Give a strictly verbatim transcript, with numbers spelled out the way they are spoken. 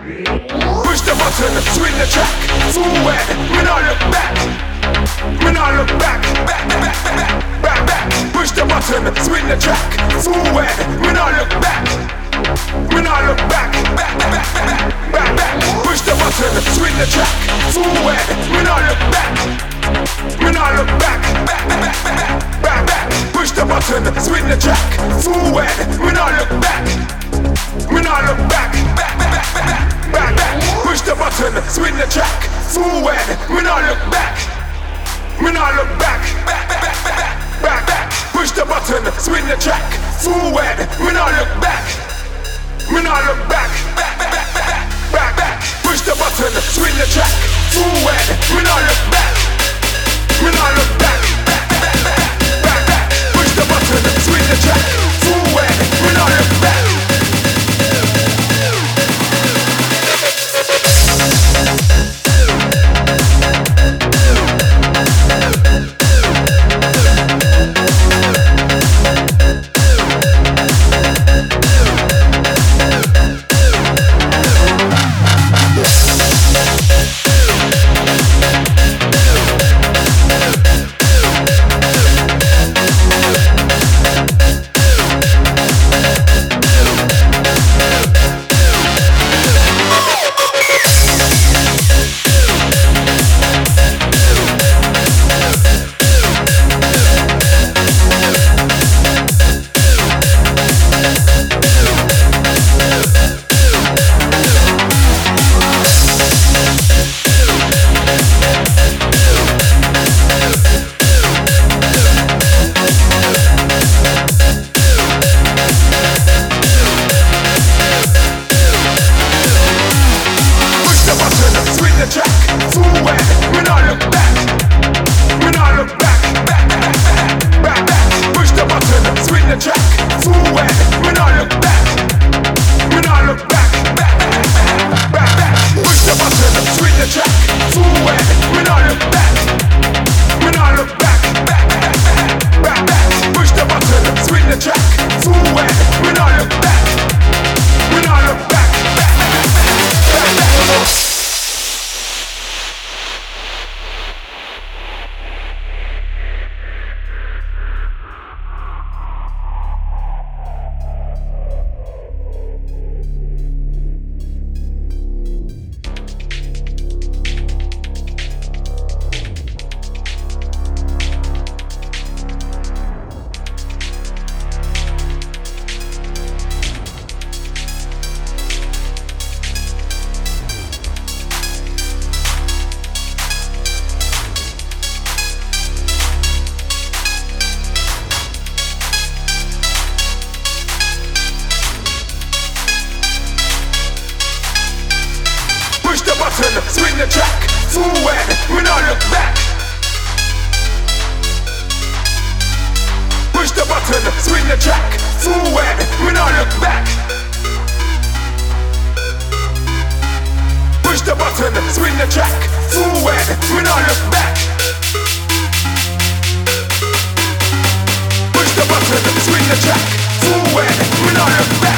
Push the button, swing the track, forward, we not look back. We not look back, back, back, back, back, back. Push the button, swing the track, forward, we not look back. We not look back, back, back, back, back, back. Push the button, swing the track, forward, we not look back. We not look back, back, back, back, back, back. Push the button, swing the track, forward, we not look back. We not look back, back, back, back, back, back. Push the button, swing the track, forward, we not look back. We not look back, back, back, back, back, back. Push the button, swing the track, forward, we not look back. We not look back, back, back, back, back, back. Push the button, swing the track, forward, we not look back. We not look back, back, back, back, back, back. Push the button, swing the track, forward, we not look back. Swing the track, forward, we not look back. Push the button, swing the track, forward, we not look back. Push the button, swing the track, forward, we not look back. Push the button, swing the track, forward, we not look back.